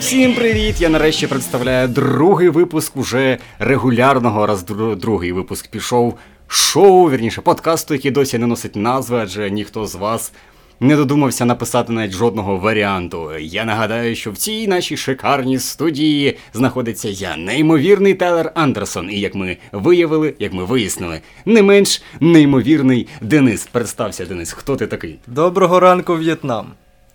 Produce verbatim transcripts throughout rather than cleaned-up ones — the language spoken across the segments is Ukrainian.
Всім привіт! Я нарешті представляю другий випуск уже регулярного, раз другий випуск пішов шоу, вірніше, подкасту, який досі не носить назви, адже ніхто з вас не додумався написати навіть жодного варіанту. Я нагадаю, що в цій нашій шикарній студії знаходиться я, неймовірний Тайлер Андерсон, і як ми виявили, як ми вияснили, не менш неймовірний Денис. Представся, Денис, хто ти такий? Доброго ранку, В'єтнам!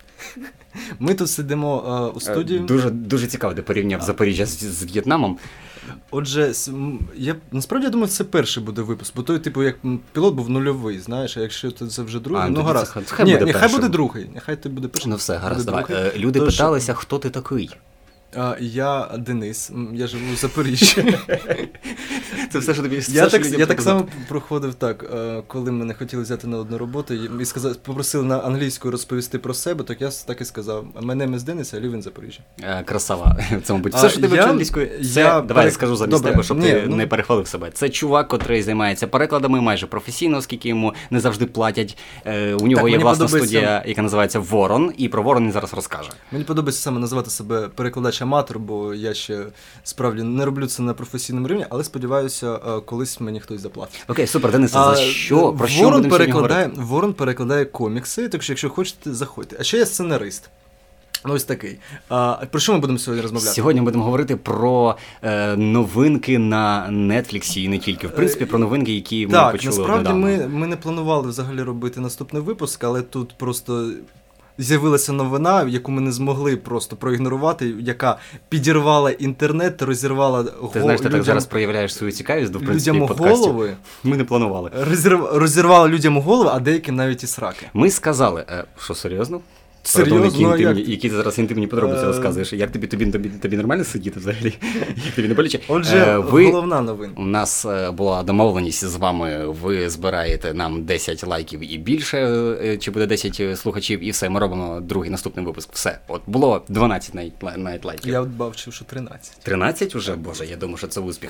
Ми тут сидимо е, у студії. Дуже, дуже цікаво, ти порівняв Запоріжжя з, з В'єтнамом. Отже, я насправді я думаю, це перший буде випуск, бо той, типу, як пілот був нульовий, знаєш, а якщо це вже другий, а, ну гаразд. Це, хай Ні, буде нехай буде другий, нехай ти буде перший. Ну все, гаразд, давай. Другий. Люди Тож, питалися, хто ти такий? А, я Денис, я живу в Запоріжжі. Це все, що тобі все, Я, що так, я так само проходив так, коли мене хотіли взяти на одну роботу і сказали, попросили на англійську розповісти про себе, так я так і сказав, мене ім'я Денис, я live in Запоріжжя. Красава, це, мабуть, все, що ти вивчив англійською, це, я давай перек... скажу замість Добре. тебе, щоб Ні, ти ну... не перехвалив себе. Це чувак, котрий займається перекладами майже професійно, оскільки йому не завжди платять. У нього так, є власна подобається... студія, яка називається Ворон, і про Ворон він зараз розкаже. Мені подобається саме називати себе перекладач-аматор, бо я ще справді не роблю це на професійному рівні, але сподіваюся, колись мені хтось заплатить. Окей, супер, Денис, за що? Про що Ворон перекладає, Ворон перекладає комікси, так що якщо хочете, заходьте. А ще я сценарист. Ну, ось такий. А, про що ми будемо сьогодні розмовляти? Сьогодні ми будемо говорити про е, новинки на Netflix і не тільки. В принципі, про новинки, які ми так, почули насправді недавно. ми, ми не планували взагалі робити наступний випуск, але тут просто з'явилася новина, яку ми не змогли просто проігнорувати, яка підірвала інтернет, розірвала голову. Ти знаєш, ти людям, так зараз проявляєш свою цікавість до, в принципі, людям подкастів. Голови. Ми не планували. Розірв... Розірвала людям голови, а деяким навіть і сраки. Ми сказали, е, що серйозно? Серйозно, які, інтимні, як... які ти зараз інтимні подробиці розказуєш. Як тобі, тобі, тобі, тобі нормально сидіти взагалі? Як тобі не боляче? Отже, ви... головна новина. У нас була домовленість з вами, ви збираєте нам десять лайків і більше, чи буде десять слухачів, і все, ми робимо другий наступний випуск. Все, от було дванадцять навіть лайків. Я от бачив, що тринадцять. тринадцять уже? Боже, я думаю, що це успіх.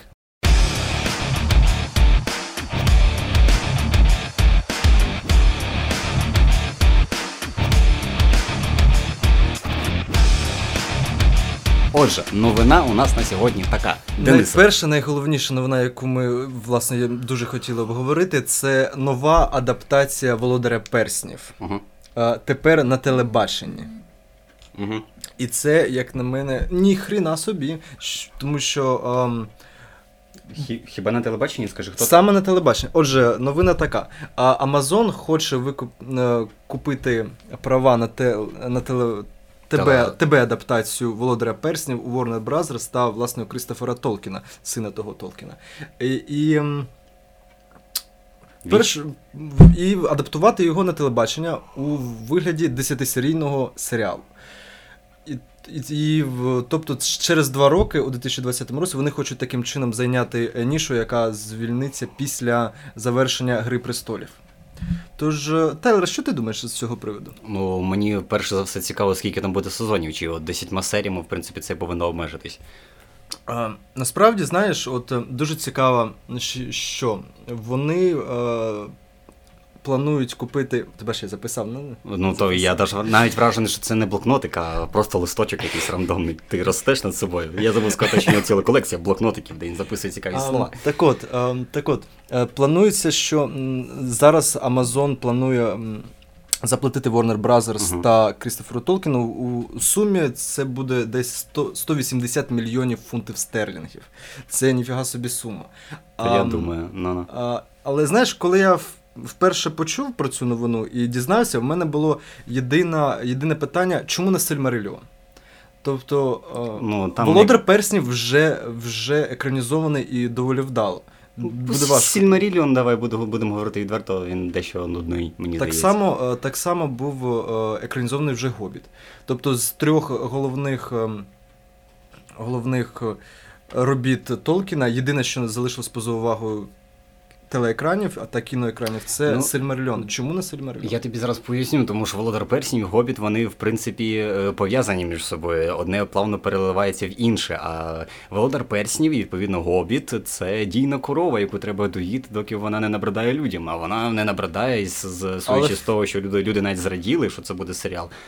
Отже, новина у нас на сьогодні така. Денис. Найперша, найголовніша новина, яку ми, власне, дуже хотіли обговорити, це нова адаптація «Володаря перснів». Угу. А, тепер на телебаченні. Угу. І це, як на мене, ні хріна собі, тому що... Ам... Хіба на телебаченні, скажи, хто? Саме на телебаченні. Отже, новина така. Amazon хоче викуп... купити права на, те... на телебачення. Тебе, тебе адаптацію «Володаря перснів» у Warner Bros. Та, власне, у Крістофера Толкіна, сина того Толкіна. І, і, перш, і адаптувати його на телебачення у вигляді десятисерійного серіалу. І, і, і, тобто через два роки, у дві тисячі двадцятому році, вони хочуть таким чином зайняти нішу, яка звільниться після завершення «Гри престолів». Тож, Тайлер, що ти думаєш з цього приводу? Ну, мені перше за все цікаво, скільки там буде сезонів, чи от десятьма серіями, в принципі, це повинно обмежитись. А, насправді, знаєш, от дуже цікаво, що вони а, планують купити... Тебе ще записав? Ну, ну то я навіть вражений, що це не блокнотик, а просто листочок якийсь рандомний. Ти ростеш над собою. Я забув сказати, що у нього ціла колекція блокнотиків, де він записує цікаві а, слова. Так от, а, так от, планується, що зараз Amazon планує заплатити Warner Bros. Uh-huh. та Крістоферу Толкіну у сумі це буде десь сто, сто вісімдесят мільйонів фунтів стерлінгів. Це ніфіга собі сума. Я а, думаю, ну-ну. А, але знаєш, коли я вперше почув про цю новину і дізнався, в мене було єдине, єдине питання, чому не Сильмарилліон? Тобто, ну, там «Володар не... перснів» вже, вже екранізований і доволі вдало. Буде важко. Сильмарилліон, давай будемо говорити відверто, він дещо нудний, мені так здається. Само, так само був екранізований вже «Гобіт». Тобто з трьох головних, головних робіт Толкіна, єдине, що залишилось поза увагою телеекранів, а та кіноекранів, це ну, Сильмарилліон. Чому не Сильмарилліон? Я тобі зараз поясню, тому що «Володар перснів» і «Гобіт», вони, в принципі, пов'язані між собою. Одне плавно переливається в інше, а «Володар перснів» і, відповідно, «Гобіт» – це дійна корова, яку треба доїти, доки вона не набридає людям. А вона не набридає, з, з, судячи Але... з того, що люди, люди навіть зраділи, що це буде серіал.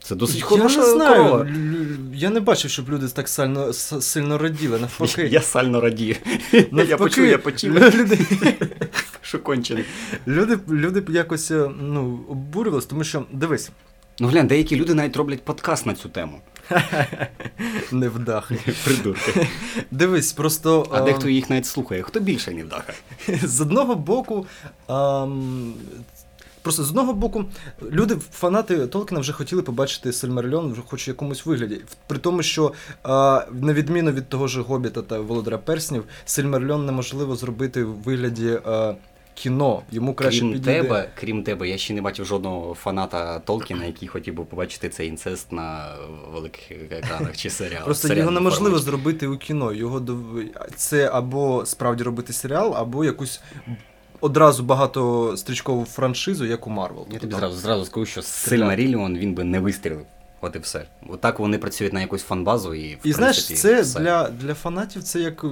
Це досить Я хороша не знаю, корова. лю- я не бачив, щоб люди так сильно, с- сильно раділи, навпаки. Я сально радію. Навпаки, Я почув, я почув. Люди, Що кончений. люди, люди якось ну, обурювалися, тому що, дивись, Ну глянь, деякі люди навіть роблять подкаст на цю тему. невдахи. Придурки. Дивись, просто... А ем, дехто їх навіть слухає. Хто більше невдаха? з одного боку, ем, просто з одного боку, люди, фанати Толкіна вже хотіли побачити Сильмарилліон вже хоч в якомусь вигляді. При тому, що е, на відміну від того ж Гобіта та Володаря Перснів, Сильмарилліон неможливо зробити в вигляді е, кіно. Йому краще Крім підійде... тебе, крім тебе, я ще не бачив жодного фаната Толкіна, який хотів би побачити цей інцест на великих екранах чи серіалах. Просто серіальному його неможливо форматі. зробити у кіно. Його дов- це або справді робити серіал, або якусь одразу багатострічкову франшизу, як у Марвел. Я тобі зразу, зразу скажу, що Сильмарилліон він би не вистрілив. От і все. Отак вони працюють на якусь фанбазу і, в І знаєш, принципі, це все. для, для фанатів це як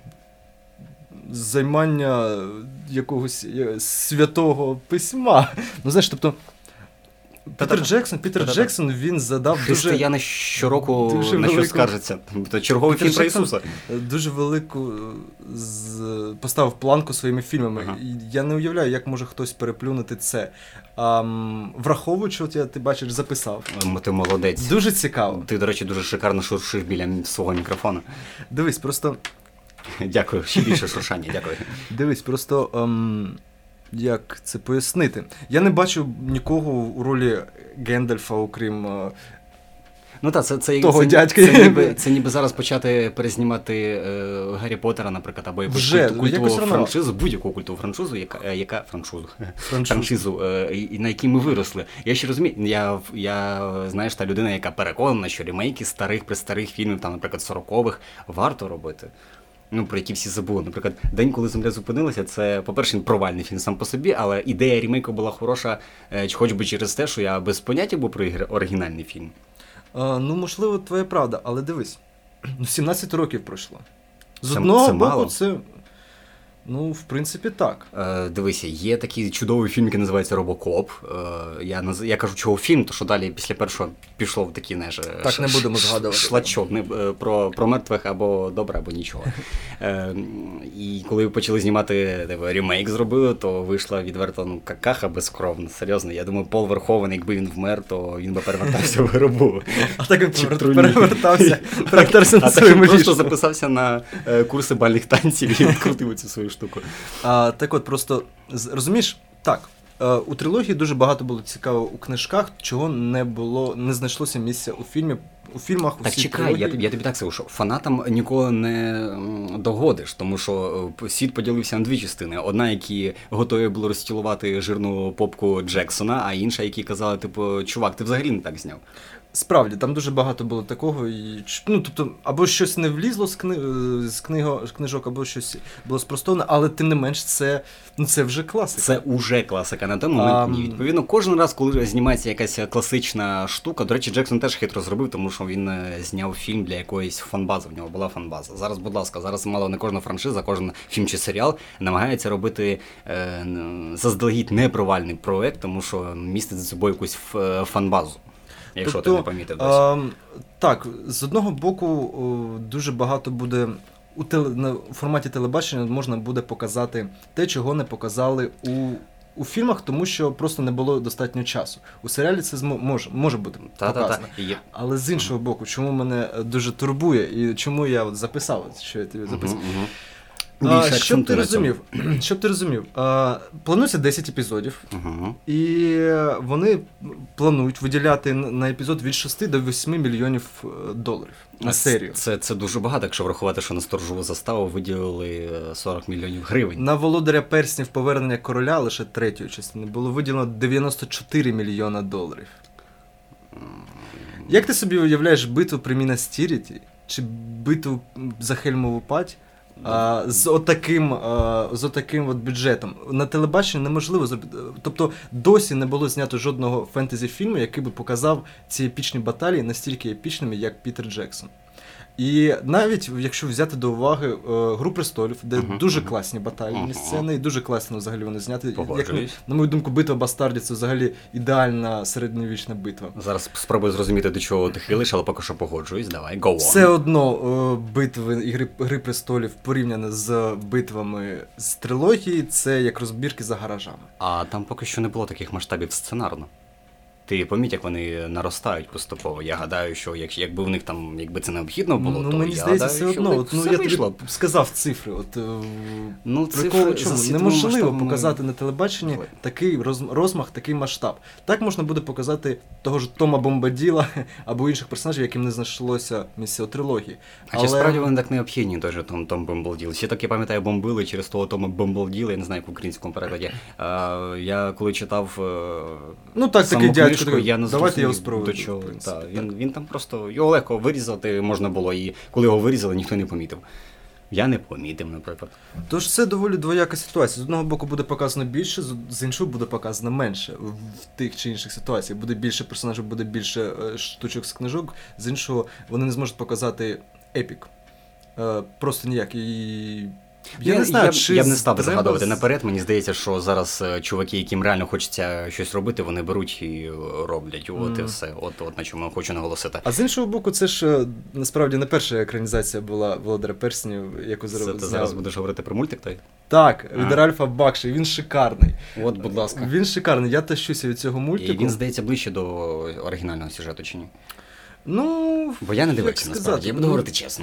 займання якогось е, святого письма. Ну знаєш, тобто Пітер Та-та-та. Джексон, Пітер Та-та-та. Джексон, він задав дуже, Християни щороку дуже на що велику- скаржаться. Тобто черговий Пітер фільм про Джексон Ісуса. дуже велику е, з, поставив планку своїми фільмами. Ага. І я не уявляю, як може хтось переплюнути це. А, м, враховуючи, от я, ти бачиш, записав. Ем, Ти молодець. Дуже цікаво. Ти, до речі, дуже шикарно шуршиш біля свого мікрофона. Дивись, просто Дякую, ще більше шуршання, дякую. Дивись, просто ем, як це пояснити? Я не бачу нікого у ролі Гендальфа, окрім. Е, Ну так, це, це, Того це, дядька. це, ніби, це ніби зараз почати перезнімати е, Гаррі Поттера, наприклад, або якусь Вже, культу- культову якось рано. франшизу, будь-яку культову франшизу, яка, е, яка франшизу, франшизу. франшизу е, і- на якій ми виросли. Я ще розумію, я, я знаєш, та людина, яка переконана, що ремейки старих, престарих фільмів, там, наприклад, сорокових, варто робити. Ну, про які всі забули. Наприклад, День, коли земля зупинилася, це, по-перше, він провальний фільм сам по собі, але ідея ремейку була хороша, е, хоч би через те, що я без поняття був про ігри- оригінальний фільм. Е, ну, можливо, твоя правда, але дивись, ну, сімнадцять років пройшло. З Це- одного це боку, мало? це. Ну, в принципі, так. Е, дивися, є такий чудовий фільм, який називається Робокоп. Е, я, наз... я кажу, чого фільм, то що далі після першого пішов в такий, знаєш, Так, ш- не будемо ш- згадувати. шлачок не, е, про, про мертвих або добре, або нічого. Е, і коли почали знімати типу, ремейк зробили, то вийшла відверто ну, какаха безкровна, серйозно. Я думаю, Пол Верховен, якби він вмер, то він би перевертався в гробу. А так він Чи перевер- труні. перевертався, перевертався А на так своєму він просто ліжку. записався на е, курси бальних танців і відкрутив цю свою штуку. А, так от, просто, з- розумієш, так, е, у трилогії дуже багато було цікаво у книжках, чого не було, не знайшлося місця у фільмі, у фільмах, у Так всій чекай, трилогії. я, тобі- я тобі так скажу, що фанатам ніколи не м, догодиш, тому що е, світ поділився на дві частини. Одна, які готові були розтілувати жирну попку Джексона, а інша, які казали, типу, чувак, ти взагалі не так зняв. Справді, там дуже багато було такого, і, ч- ну, тобто, або щось не влізло з, кни... е, з, книго... з книжок, або щось було спростоване, але тим не менш, це, ну, це вже класика. Це уже класика на той момент. А, Ні, відповідно, кожен раз, коли знімається якась класична штука, до речі, Джексон теж хитро зробив, тому що він е, зняв фільм для якоїсь фанбази, в нього була фанбаза. Зараз, будь ласка, зараз мало не кожна франшиза, кожен фільм чи серіал намагається робити е, н- заздалегідь непровальний проект, тому що містить за собою якусь ф- фанбазу. Якщо Тобто, ти не помітив досі. А, так, з одного боку, о, дуже багато буде у, теле, на, у форматі телебачення можна буде показати те, чого не показали у, у фільмах, тому що просто не було достатньо часу. У серіалі це змо, може, може бути показано. Та-та-та. Є. Але з іншого боку, чому мене дуже турбує і чому я от записав, що я тобі записав. Мгм, мгм. А, Більше щоб ти акцентуй на цьому. розумів, щоб ти розумів, а, планується десять епізодів. Мгм. І вони планують виділяти на епізод від шести до восьми мільйонів е, доларів на серію. Це, це дуже багато, якщо врахувати, що на сторожову заставу виділили е, сорок мільйонів гривень. На Володаря Перснів повернення короля лише третьої частини було виділено дев'яносто чотири мільйона доларів. Як ти собі уявляєш битву при Мінас-Тіріті чи битву за Хельмову Пать а, з отаким, а, з отаким от бюджетом? На телебаченні неможливо зробити. Тобто досі не було знято жодного фентезі-фільму, який би показав ці епічні баталії настільки епічними, як Пітер Джексон. І навіть, якщо взяти до уваги е, «Гру престолів», де uh-huh, дуже uh-huh. класні батальні uh-huh. сцени, і дуже класно взагалі вони зняті. Як, на мою думку, «Битва бастардів» — це взагалі ідеальна середньовічна битва. Зараз спробую зрозуміти, до чого ти хилиш, але поки що погоджуюсь, давай, go on. Все одно е, битви і гри, «Гри престолів» порівняно з битвами з трилогії, це як розбірки за гаражами. А там поки що не було таких масштабів сценарно. Ти поміть, як вони наростають поступово. Я гадаю, що як, якби в них там, якби це необхідно було, ну, то мені я здається, гадаю, все одно. От, ну, я вийшло. тобі сказав цифри. От, ну, прикол, чому? Неможливо масштабом... показати на телебаченні Ой. такий роз, розмах, такий масштаб. Так можна буде показати того ж Тома Бомбаділа або інших персонажів, яким не знайшлося місця у трилогії. А Але... чи справді вони так необхідні, той же Том, Том Бомбаділ? Ще так, я пам'ятаю, бомбили через того Тома Бомбаділа, я не знаю, як в українському перекладі. А, я коли читав ну, так, саму такий книжку, дядько, я не давайте його спробуємо. До чого. Та, він, він там просто, його легко вирізати можна було, і коли його вирізали, ніхто не помітив. Я не помітив, наприклад. Тож це доволі двояка ситуація. З одного боку буде показано більше, з іншого буде показано менше в тих чи інших ситуаціях. Буде більше персонажів, буде більше штучок з книжок, з іншого вони не зможуть показати епік. Просто ніяк. І... Я, я не знаю, я, чи я б не став би загадувати наперед. Мені здається, що зараз чуваки, яким реально хочеться щось робити, вони беруть і роблять. От mm. і все. От, от на чому я хочу наголосити. А з іншого боку, це ж насправді не перша екранізація була «Володаря перснів», яку зробив. Це ти зараз будеш говорити про мультик той? Так, від Ральфа Бакші. Він шикарний. От, будь ласка. Він шикарний. Я тащуся від цього мультику. І він, здається, ближче до оригінального сюжету, чи ні? Ну, бо я не дивився, насправді. Я буду ну, говорити чесно.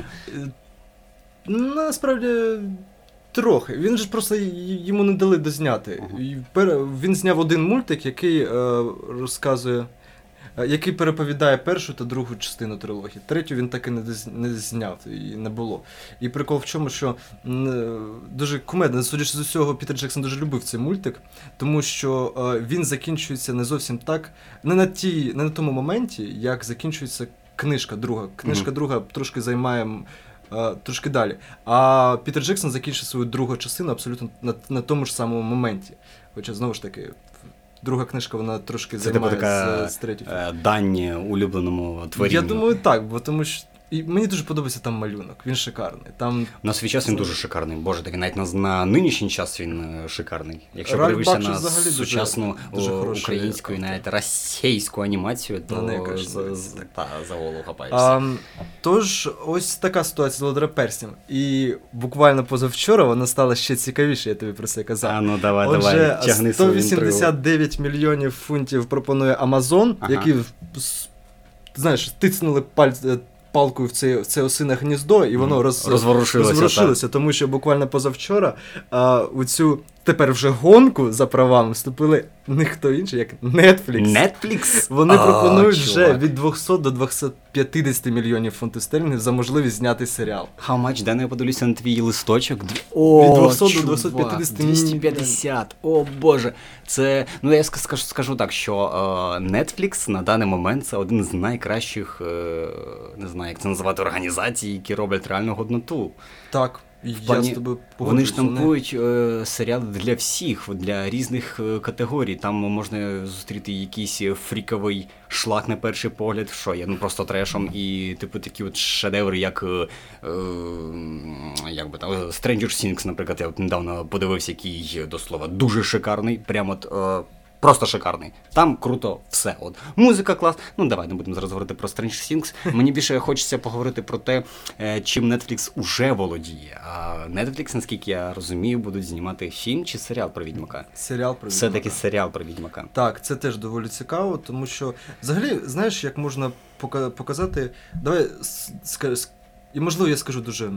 Насправді, трохи. Він ж просто йому не дали дозняти. Uh-huh. Він зняв один мультик, який е, розказує, е, який переповідає першу та другу частину трилогії. Третю він таки не, доз, не зняв, і не було. І прикол в чому, що е, дуже кумедно, судячи з усього, Пітер Джексон дуже любив цей мультик, тому що е, він закінчується не зовсім так, не на, ті, не на тому моменті, як закінчується книжка друга. Книжка uh-huh. друга трошки займає... Uh, трошки далі. А Пітер Джексон закінчив свою другу частину абсолютно на, на тому ж самому моменті. Хоча, знову ж таки, друга книжка, вона трошки це займає така з, з третьої. Дань улюбленому творінню. Я думаю, так, бо тому що і мені дуже подобається там малюнок, він шикарний. Там... На свій час він дуже шикарний, боже, так навіть на, на нинішній час він шикарний. Якщо подивишся на сучасну дуже, дуже українську і навіть російську анімацію, то не, за, за, та, за голову хапаєшся. Тож, ось така ситуація з «Володарем перснів». І буквально позавчора вона стала ще цікавіше, я тобі про це казав. А, ну давай, Отже, давай, тягни сто вісімдесят дев'ять мільйонів фунтів пропонує Amazon, ага. які, знаєш, тицнули пальці палкою в це, в це осине гніздо, і воно роз, розворушилося, розворушилося тому що буквально позавчора а, у цю тепер вже гонку за правами вступили ніхто інший, як Netflix. Netflix? Вони а, пропонують чувак. вже від двісті до двісті п'ятдесят мільйонів фунтів стерлінгів за можливість зняти серіал. How much? Дай я подивлюся на твій листочок. О, від двісті до двісті п'ятдесят. двісті п'ятдесят. О, боже. Це, ну я скажу, скажу так, що uh, Netflix на даний момент це один з найкращих, uh, не знаю, як це називати, організацій, які роблять реальну годноту. Так. В плані, я з тобою вони штампують е, серіали для всіх, для різних е, категорій. Там можна зустріти якийсь фріковий шлак на перший погляд, що є ну просто трешом, і типу такі от шедеври, як е, е, як би там, Stranger Things, наприклад, я от недавно подивився, який, до слова, дуже шикарний, прямо от, е, просто шикарний. Там круто все. От. Музика клас. Ну, давай не будемо зараз говорити про Stranger Things. Мені більше хочеться поговорити про те, чим Netflix уже володіє. А Netflix, наскільки я розумію, будуть знімати фільм чи серіал про Відьмака? Серіал про Відьмака. Все-таки серіал про Відьмака. Так, це теж доволі цікаво, тому що, взагалі, знаєш, як можна показати... Давай, і можливо, я скажу дуже...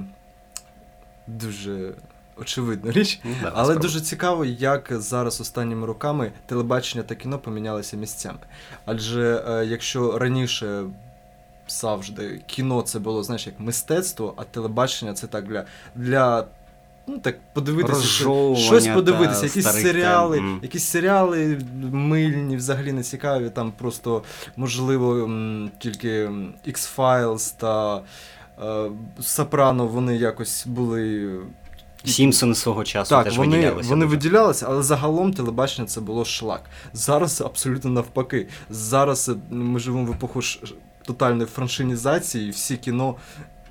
дуже... очевидна річ, ну, да, але справді. Дуже цікаво, як зараз останніми роками телебачення та кіно помінялися місцями. Адже е, якщо раніше завжди кіно це було, знаєш, як мистецтво, а телебачення це так для, для ну так подивитися, щось подивитися, якісь серіали, тем. якісь серіали мильні, взагалі не цікаві, там просто, можливо, м, тільки X-Files та е, Сопрано, вони якось були... Сімпсони свого часу так, теж вони, виділялися. Вони дуже. виділялися, але загалом телебачення це було шлак. Зараз абсолютно навпаки. Зараз ми живемо в епоху ш... тотальної франшинізації, і всі кіно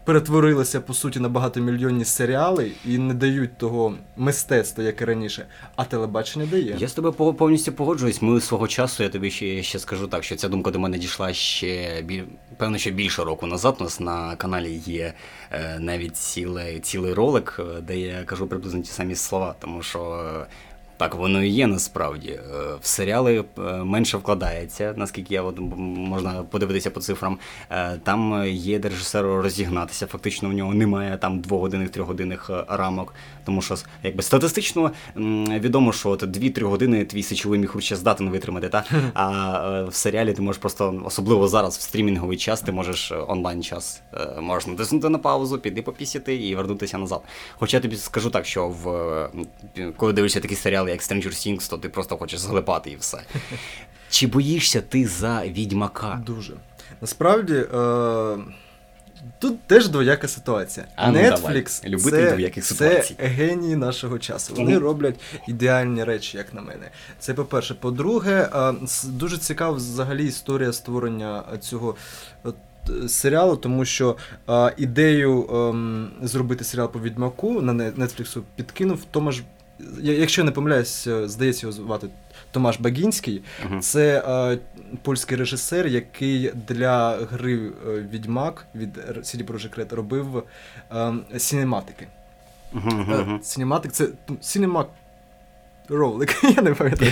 перетворилися, по суті, на багатомільйонні серіали і не дають того мистецтва, як і раніше, а телебачення дає. Я з тобою повністю погоджуюсь. Ми свого часу, я тобі ще, ще скажу так, що ця думка до мене дійшла ще, біль... певно, ще більше року назад. У нас на каналі є е, навіть цілий, цілий ролик, де я кажу приблизно ті самі слова, тому що... Е, Так, воно і є насправді. В серіали менше вкладається, наскільки я от, можна подивитися по цифрам. Там є де режисеру розігнатися, фактично в нього немає там двогодинних, трьохгодинних рамок. Тому що якби статистично відомо, що от дві-три години твій сечовий міхур ще здатен витримати, та? А в серіалі ти можеш просто, особливо зараз в стрімінговий час, ти можеш онлайн-час, можеш натиснути на паузу, піти попісяти і вернутися назад. Хоча я тобі скажу так, що в, коли дивишся такі серіали, як Stranger Things, то ти просто хочеш зглипати і все. Чи боїшся ти за Відьмака? Дуже. Насправді, е- тут теж двояка ситуація. А, ну, Netflix це, це генії нашого часу. Вони mm-hmm. роблять ідеальні речі, як на мене. Це по-перше. По-друге, е- дуже цікава взагалі історія створення цього серіалу, тому що е- ідею е- зробити серіал по Відьмаку на Netflix підкинув Томаш. Якщо не помиляюсь, здається, його звати Томаш Багінський. Uh-huh. Це е, польський режисер, який для гри е, Відьмак від сі ді Projekt Red робив е, сінематики. Uh-huh, uh-huh. Сінематик це сінемак ролик, я не пам'ятаю.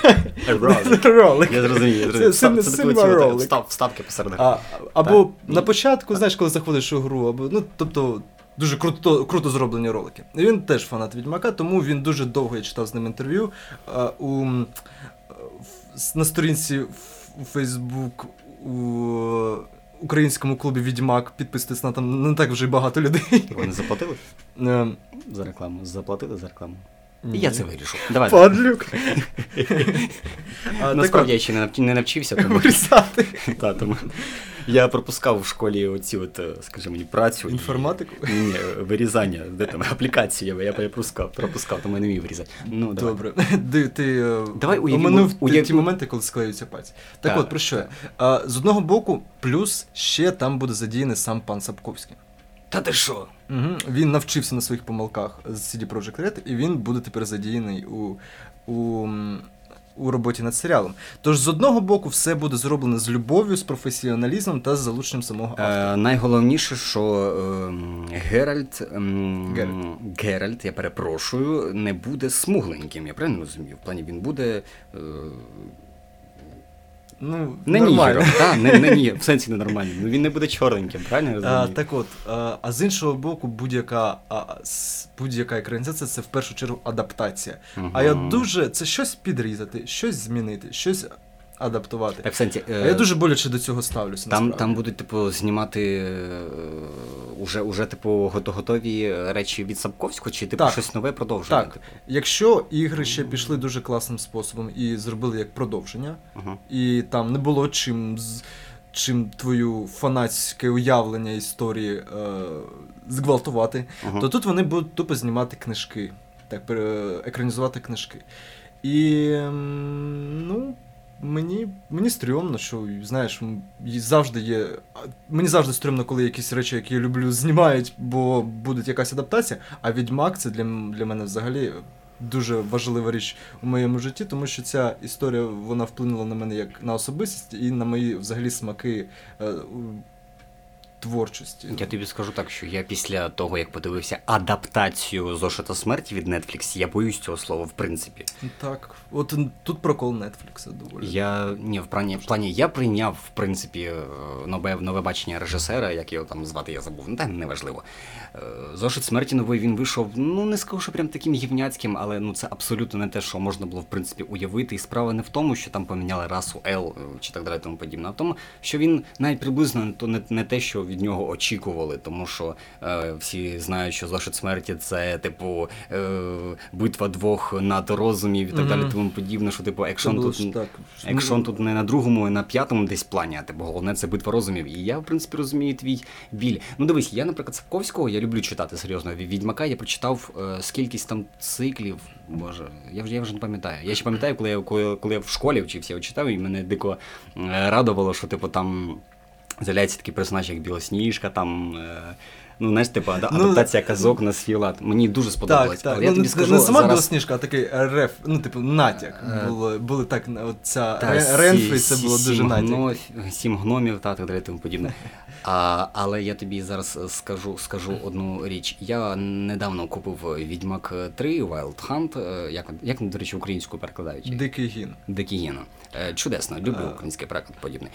Ролик. Я зрозумів. Це синема ролик. Вставки посеред гри. Або на початку, знаєш, коли заходиш у гру, або, ну, тобто, дуже круто, круто зроблені ролики. І він теж фанат Відьмака, тому він дуже довго, я читав з ним інтерв'ю. А, у, на сторінці у Фейсбук у українському клубі Відьмак підписуйтесь на там не так вже й багато людей. Вони заплатили? Um, за рекламу? Заплатили за рекламу? Ні. Я це вирішу. Давай. Падлюк. Насправді я ще не навчився. Вирізати. Так, тому... Я пропускав в школі оці от, скажімо, працю. Інформатику? І... Ні, вирізання, де там, аплікації я пропускав, пропускав, тому я не міг вирізати. Ну, добре. Ти, ти давай оминув уяв... ті моменти, коли склеюються пальці. Так, так от, про що я? А, з одного боку, плюс ще там буде задіяний сам пан Сапковський. Та ти що? Угу. Він навчився на своїх помилках з сі ді Projekt Red, і він буде тепер задіяний у... у у роботі над серіалом. Тож, з одного боку, все буде зроблено з любов'ю, з професіоналізмом та з залученням самого автора. Е, найголовніше, що е, Геральт, е, Геральт. Геральт, я перепрошую, не буде смугленьким, я правильно розумію? В плані він буде... Е, Ну, не нігером, та, не, не ні, в сенсі ненормальним. Ну, він не буде чорненьким, правильно я розумію? А, так от, а, а з іншого боку, будь-яка, а, будь-яка екранізація – це в першу чергу адаптація. Угу. А я дуже, це щось підрізати, щось змінити, щось адаптувати. В сенсі, а я дуже боляче до цього ставлюся. Там, там будуть, типу, знімати е, уже, уже, типу, готові речі від Сапковського, чи типу, так. щось нове продовження? Так, типу? Якщо ігри ще пішли дуже класним способом і зробили як продовження, uh-huh. і там не було чим, чим твою фанатське уявлення історії е, зґвалтувати, uh-huh. то тут вони будуть тупо знімати книжки, так, екранізувати книжки. І, ну... Мені, мені стрьомно, що, знаєш, завжди є... Мені завжди стрьомно, коли якісь речі, які я люблю, знімають, бо буде якась адаптація, а Відьмак – це для, для мене взагалі дуже важлива річ у моєму житті, тому що ця історія, вона вплинула на мене як на особистість і на мої, взагалі, смаки е, творчості. Я тобі скажу так, що я після того, як подивився адаптацію «Зошита смерті» від Netflix, я боюсь цього слова, в принципі. Так, от тут прокол Netflix доволі. Я, ні, в плані, в плані, я прийняв, в принципі, нове, нове бачення режисера, як його там звати, я забув, ну, та неважливо. «Зошит смерті» новий, він вийшов, ну, не скажу, що прям таким гівняцьким, але, ну, це абсолютно не те, що можна було, в принципі, уявити. І справа не в тому, що там поміняли расу L, чи так далі, тому подібне, а в тому, що він навіть приблизно то не, не те, що від нього очікували, тому що е, всі знають, що «Зошит смерті» це, типу, е, битва двох надрозумів і так mm-hmm. далі, тому подібне, що, типу, екшон тут, екшон тут не на другому, а на п'ятому десь плані, а, типу, головне це битва розумів. І я, в принципі, розумію твій біль. Ну, дивись, я, наприклад, Сапковського, я люблю читати, серйозно, Відьмака, я прочитав е, скількись там циклів, боже, я вже, я вже не пам'ятаю. Я ще пам'ятаю, коли я, коли, коли я в школі вчився, я читав, і мене дико е, радувало, що, типу, там з'являється такий персонаж, як Білосніжка, там... Е... Ну, знаєш, типу, адаптація ну, казок на свій лад. Мені дуже сподобалось. Так, так. Але я ну, тобі не, скажу, не сама зараз... Білосніжка, а такий реф, ну, типу, натяк. Е... Були, були так, от ця та, Ренфрі, сі, це було сі, дуже натяк. Гно... Сім гномів, та, так далі, тому подібне. А, але я тобі зараз скажу, скажу одну річ. Я недавно купив Відьмак три Wild Hunt, як, як до речі, українською перекладають? Дикий гін. Дикий гін. Чудесно, люблю український переклад подібний.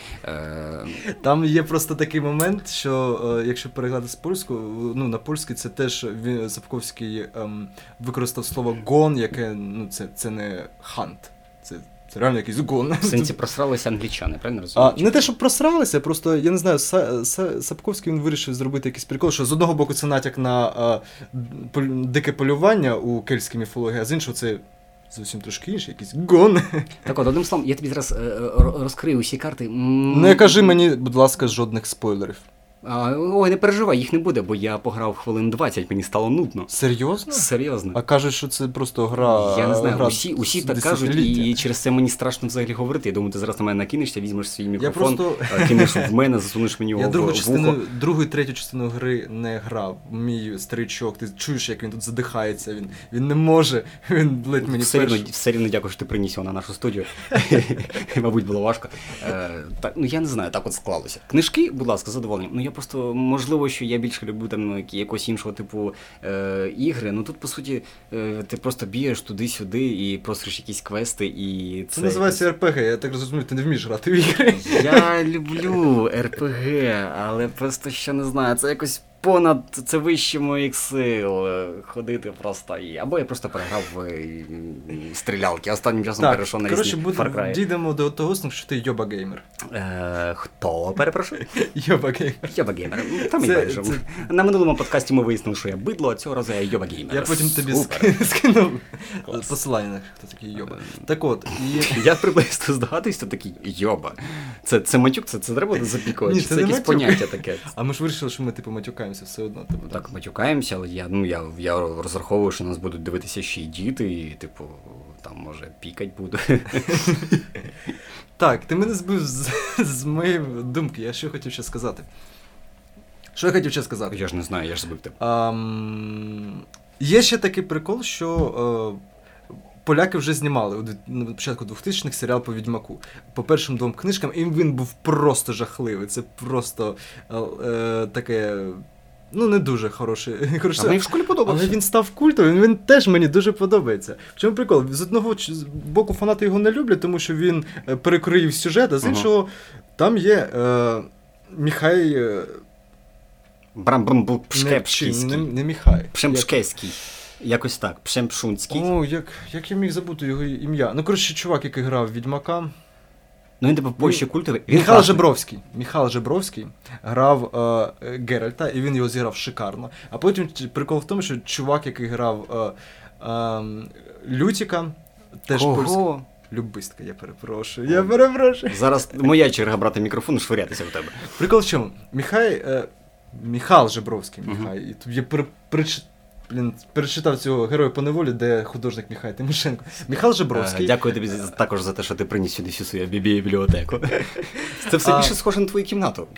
Там є просто такий момент, що якщо перекладати з польську, ну на польській це теж він, Сапковський ем, використав слово гон, яке, ну це, це не хант, це, це реально якийсь гон. В сенсі просралися англічани, правильно розумію? А, не те, щоб просралися, просто, я не знаю, Са, Са, Сапковський він вирішив зробити якийсь прикол, що з одного боку це натяк на а, дике полювання у кельтській міфології, а з іншого це зовсім трошки інший, якийсь гон. Так от, одним словом, я тобі зараз е, розкрию усі карти. Не кажи мені, будь ласка, жодних спойлерів. А, ой, не переживай, їх не буде, бо я пограв хвилин двадцять, мені стало нудно. Серйозно? Серйозно. А кажуть, що це просто гра... Я не знаю, гра усі, усі так кажуть, і через це мені страшно взагалі говорити. Я думаю, ти зараз на мене накинешся, візьмеш свій мікрофон, просто... кинеш в мене, засунеш мені його в вухо. Я частину, другу і третю частину гри не грав. Мій старичок, ти чуєш, як він тут задихається, він, він не може, він ледь мені все рівно, все рівно дякую, що ти приніс його на нашу студію. Мабуть, було важко. Е, так, ну я не знаю, так от склалося. Книжки, будь ласка, задоволені. Ну я просто, можливо, що я більше люблю там якогось іншого типу е, ігри. Ну тут, по суті, е, ти просто бієш туди-сюди і просиш якісь квести і це... Це називається ар пі гі, я так розумію, ти не вмієш грати в ігри. Я люблю ар пі гі, але просто ще не знаю, це якось понад, це вище моїх сил ходити просто. І... Або я просто переграв в стрілялки, останнім часом так, перейшов на різні Far Cry. Так, дійдемо до того, що ти йоба-геймер. Е, хто, перепрошую? Йоба-геймер. Йоба-геймер. Там і байдуже. Це... На минулому подкасті ми вияснили, що я бидло, а цього разу я йоба-геймер. Я потім тобі скинув посилання, хто такий йоба. Так от, і... Я приблизно здогадуюсь, хто такий йоба. Це, це матюк, це, це треба запікувати, це, це якесь поняття таке. А ми ж вирішили, що ми типу матюкаємося все одно. Типу, так, матюкаємося, але я, ну, я, я розраховую, що нас будуть дивитися ще й діти, і, типу, там, може, пікать буду. Так, ти мене збив з, з моєї думки, я що хотів ще сказати. Що я хотів ще сказати? Я ж не знаю, я ж збив тебе. Um, є ще такий прикол, що... Uh, поляки вже знімали на початку двохтисячних серіал по Відьмаку. По першим двом книжкам, і він був просто жахливий. Це просто е, таке, ну не дуже хороше. А мені в школі подобався. Але він став культовим, він, він теж мені дуже подобається. В чому прикол? З одного боку фанати його не люблять, тому що він перекроїв сюжет, а з іншого ага. там є е, Міхай... Е, Брамбамбупшкепський. Не, не, не Міхай. Пшемшкеський. Якось так, Пшемшунський. О, як, як я міг забути його ім'я. Ну, коротше, чувак, який грав Відьмака. Ну, він типу більше культовий. Міхал Жебровський. Міхал Жебровський грав е, Геральта, і він його зіграв шикарно. А потім прикол в тому, що чувак, який грав е, е, Лютіка, теж польський. Любистка, я перепрошую, я перепрошую. Зараз моя черга брати мікрофон і швирятися в тебе. Прикол в чому? Міхай, е, Міхал Жебровський, Міхай, uh-huh. і тут я при, прич... Блін, перечитав цього героя по неволі, де художник Міхай Тимошенко. Міхал Жебровський. А, дякую тобі також за те, що ти приніс сюди всю свою бібліотеку. Це все більше схоже на твою кімнату.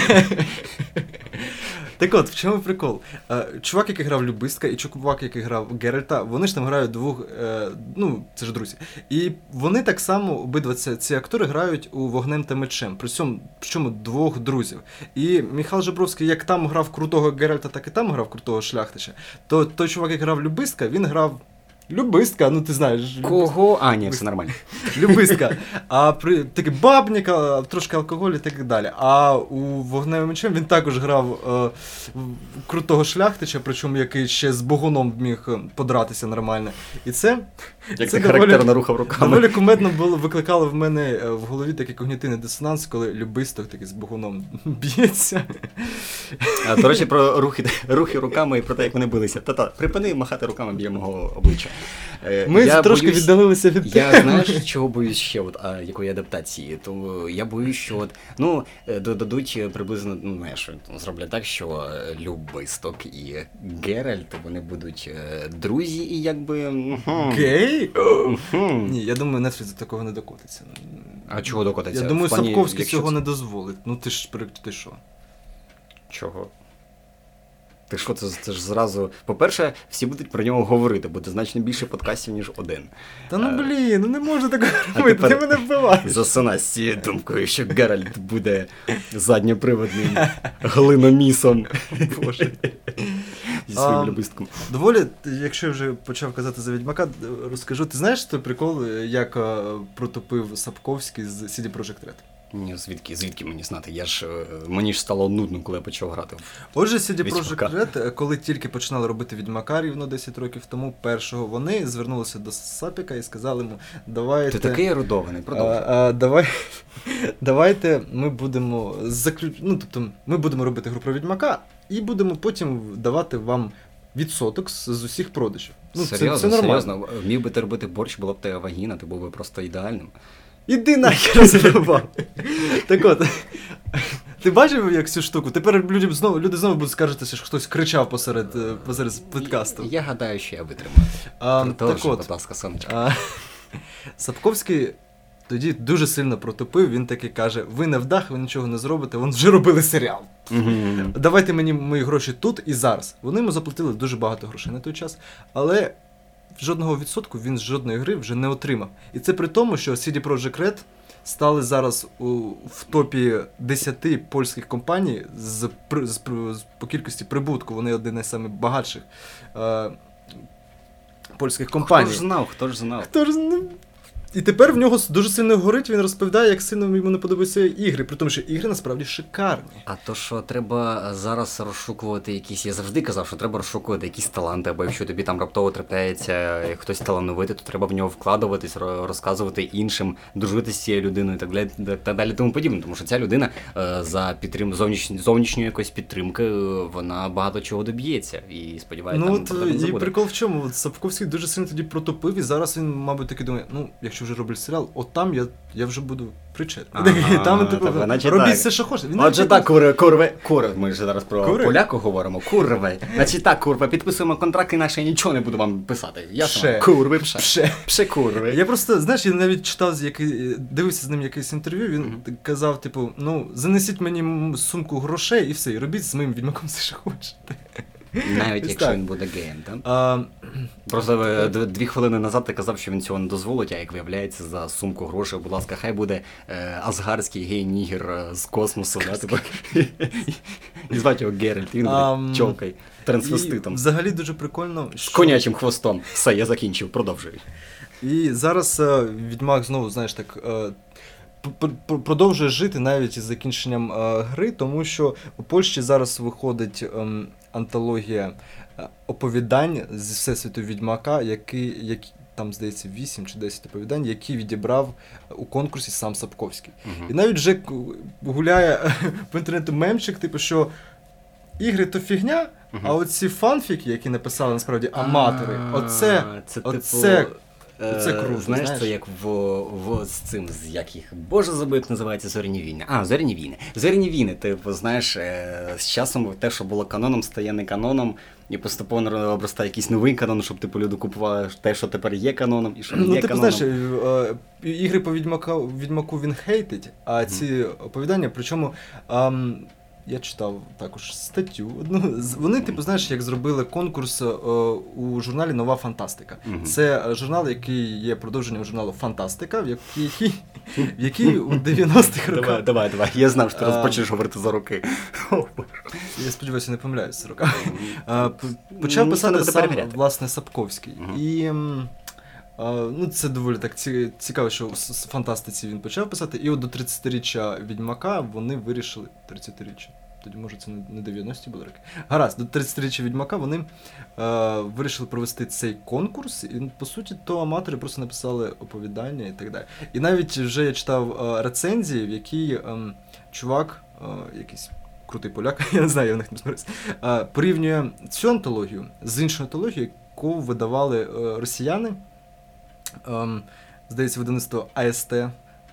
Так от, в чому прикол? Чувак, який грав Любистка, і чувак, який грав Геральта, вони ж там грають двох, ну, це ж друзі. І вони так само, обидва ці, ці актори грають у Вогнем та мечем, при цьому, причому двох друзів. І Міхал Жебровський, як там грав крутого Геральта, так і там грав крутого Шляхтича, то той чувак, який грав Любистка, він грав Любистка, ну ти знаєш. Кого? А, ні, все нормально. Любистка. А при такий бабник, трошки алкоголь і так далі. А у Вогневим мечем він також грав е, крутого Шляхтича, причому який ще з Богуном міг подратися нормально. І це... Як це характерно рухав руками. Доволі кумедно було, викликало в мене в голові такий когнітивний дисонанс, коли Любисток такий з Богуном б'ється. А, до речі, про рухи, рухи руками і про те, як вони билися. Та-та, припини махати руками біля мого обличчя. Ми я трошки боюсь, віддалилися від я, теми. Знаєш, чого боюсь ще, от, а, якої адаптації? То я боюсь, що от, ну, додадуть приблизно, ну, знаєш, зроблять так, що Любисток і Геральт, вони будуть друзі і якби... Гей? Ні, я думаю, Netflix до такого не докотиться. А чого докотиться? Я думаю, В плані, Сапковський якщо цього це- не дозволить. Ну ти ж при- ти що? Чого? Ти що, це, це ж зразу. По-перше, всі будуть про нього говорити, буде значно більше подкастів, ніж один. Та ну Е, блін, ну не можна так а робити, ти тепер мене вбиваєш. Засинай з цією думкою, що Геральт буде задньоприводним глиномісом. Боже. Зі своїм А, любистком. Доволі, якщо я вже почав казати за Відьмака, розкажу. Ти знаєш той прикол, як е, протопив Сапковський з сі ді Projekt Red? Ні, звідки, звідки мені знати? Я ж, е, мені ж стало нудно, коли я почав грати. Отже, сі ді Відьмака. Projekt Red, е, коли тільки починали робити Відьмака рівно десять років тому, першого, вони звернулися до Сапіка і сказали йому, давайте... Ти такий ерудований, продовжуй. А, а, давай, давайте ми будемо заключ... ну, тобто, ми будемо робити гру про Відьмака і будемо потім давати вам відсоток з, з усіх продажів. Ну, серйозно, це, це нормально. серйозно. Вмів би ти робити борщ, була б тебе вагіна, ти був би просто ідеальним. Іди нахер задовбав. Так от, ти бачив як цю штуку? Тепер люди знову, люди знову будуть скаржити, що хтось кричав посеред, е, посеред подкасту. Я гадаю, що я витримаю. А, Продовжуй, так от, будь ласка, сонечко. а, Сапковський тоді дуже сильно протопив, він таки каже, ви не вдах, ви нічого не зробите, вони вже робили серіал. Мгм. Давайте мені мої гроші тут і зараз. Вони йому заплатили дуже багато грошей на той час, але жодного відсотку він з жодної гри вже не отримав. І це при тому, що сі ді Projekt Red стали зараз у, в топі десяти польських компаній з, при- з, при- з, по кількості прибутку. Вони одні з найбагатших е, польських компаній. Хто ж знав, хто ж знав. Хто ж не... І тепер в нього дуже сильно горить, він розповідає, як сильно йому не подобаються ігри, при тому, що ігри насправді шикарні. А то, що треба зараз розшукувати якісь, я завжди казав, що треба розшукувати якісь таланти, або якщо тобі там раптово трапляється хтось талановитий, то треба в нього вкладуватись, ро- розказувати іншим, дружити з цією людиною і так далі, так далі тому подібне. Тому що ця людина е, за підтрим... зовніш... зовнішньої якоїсь підтримки, е, вона багато чого доб'ється. І сподіваюся, Ну там от про це не і забуде. прикол в чому? От Сапковський дуже сильно тоді протопив, і зараз він, мабуть, таки думає, ну, якщо вже роблять серіал, от там я, я вже буду причетний. Ага, Там, типу, так, значить робіть так. все, що хочете. Він Отже навіть так, курви, курви, курви, ми ж зараз про Курви? поляку говоримо, курви. Значить так, курва, підписуємо контракт, інакше я нічого не буду вам писати. Ясно? Пше. Курви, пше. Пше. Пше курви. Я просто, знаєш, я навіть читав, з який, дивився з ним якесь інтерв'ю, він Мгм. казав, типу, ну, занесіть мені м- сумку грошей і все, і робіть з моїм відьмаком все, що хочете. Навіть Ось якщо так. він буде геєм, так? А, Просто е, д- дві хвилини назад ти казав, що він цього не дозволить, а як виявляється, за сумку грошей, будь ласка, хай буде е, асгарський гей-нігер е, з космосу, да, типу. І звати його Геральт, він Ам, буде чолкой, і трансвеститом, з взагалі дуже прикольно, що... конячим хвостом. Все, я закінчив, продовжуй. І зараз е, Відьмак знову, знаєш, так е, п- п- продовжує жити навіть із закінченням е, гри, тому що у Польщі зараз виходить ем, антологія е, оповідань з Всесвіту Відьмака, який, які, там, здається, вісім чи десять оповідань, які відібрав у конкурсі сам Сапковський. Мгм. І навіть вже к- гуляє по інтернету мемчик, типу, що ігри то фігня, Мгм. а оці фанфіки, які написали насправді аматори, А, оце, це, оце, типу, е, оце круто, знаєш, знаєш? це як в, в з цим, з як їх, боже забув, як називається Зоряні війни. А, Зоряні війни. Зоряні війни, типу, знаєш, е, з часом те, що було каноном, стає не каноном, і поступово обростає якийсь новий канон, щоб типу люди купували те, що тепер є каноном, і що не Ну, є типу, каноном. знаєш, е, е, ігри по Відьмаку, Відьмаку він хейтить, а ці оповідання, причому ем, я читав також статтю одну. з- Вони, типу, знаєш, як зробили конкурс е, у журналі Нова Фантастика. Мгм. Це е, журнал, який є продовженням журналу Фантастика, в який, в який у дев'яностих Давай, роках. давай, давай. Я знав, що ти А, розпочнеш говорити за роки. Я сподіваюся, не помиляюся роками. Е, п- Почав Ніхто не писати буде сам, перевіряти. власне, Сапковський. Мгм. І м, а, ну, це доволі так ці- цікаво, що в с- с- фантастиці він почав писати. І от до тридцятиріччя Відьмака вони вирішили. тридцятиріччя. Тоді, може, це не- не дев'яності були роки. Гаразд, до тридцятиріччя Відьмака вони е, вирішили провести цей конкурс. І, по суті, то аматори просто написали оповідання і так далі. І навіть вже я читав е, рецензії, в якій ем, чувак, е, якийсь крутий поляк, я не знаю, я в них не зберусь, е, порівнює цю антологію з іншою антологією, яку видавали е, росіяни. Ем, здається, видавництво А С Т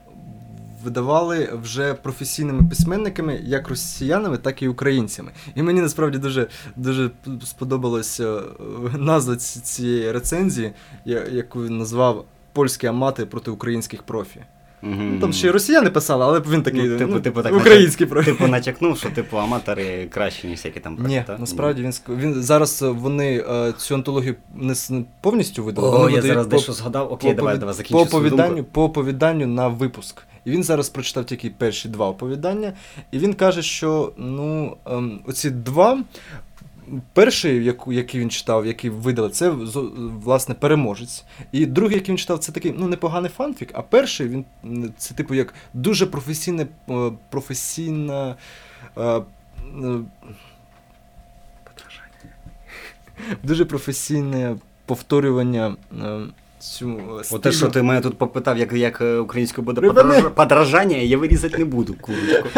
видавали вже професійними письменниками, як росіянами, так і українцями. І мені насправді дуже, дуже сподобалася е, назва ці- цієї рецензії, я- яку він назвав «Польські амати проти українських профі». Mm-hmm. Ну, там ще й росіяни писали, але він такий ну, типу, ну, типу, так український натяк, проект. Типу натякнув, що типу аматори краще, ніж всякі там проекти. Ні, так? насправді він, він зараз вони е, цю антологію не повністю видали. О, вони я зараз по, дещо згадав. Окей, по, давай, по, давай, закінчу по свою оповіданню, думку. по оповіданню на випуск. І він зараз прочитав тільки перші два оповідання, і він каже, що ну, ем, оці два, перший, яку, який він читав, який видали, це, власне, переможець. І другий, який він читав, це такий, ну, непоганий фанфік, а перший, він, це, типу, як дуже професійне, професійна... Е, дуже професійне повторювання е, цю О, те, що ти мене тут попитав, як, як українською буде Припини. подражання, я вирізати не буду, курочку.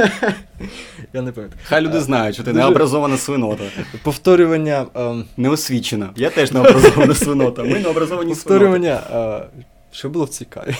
Я не пам'ятаю. Хай люди знають, що ти Дуже... необразована свинота. Повторювання... Е... Неосвічена. Я теж необразована свинота. Ми необразовані Повторювання... Е... Що було в цій каві?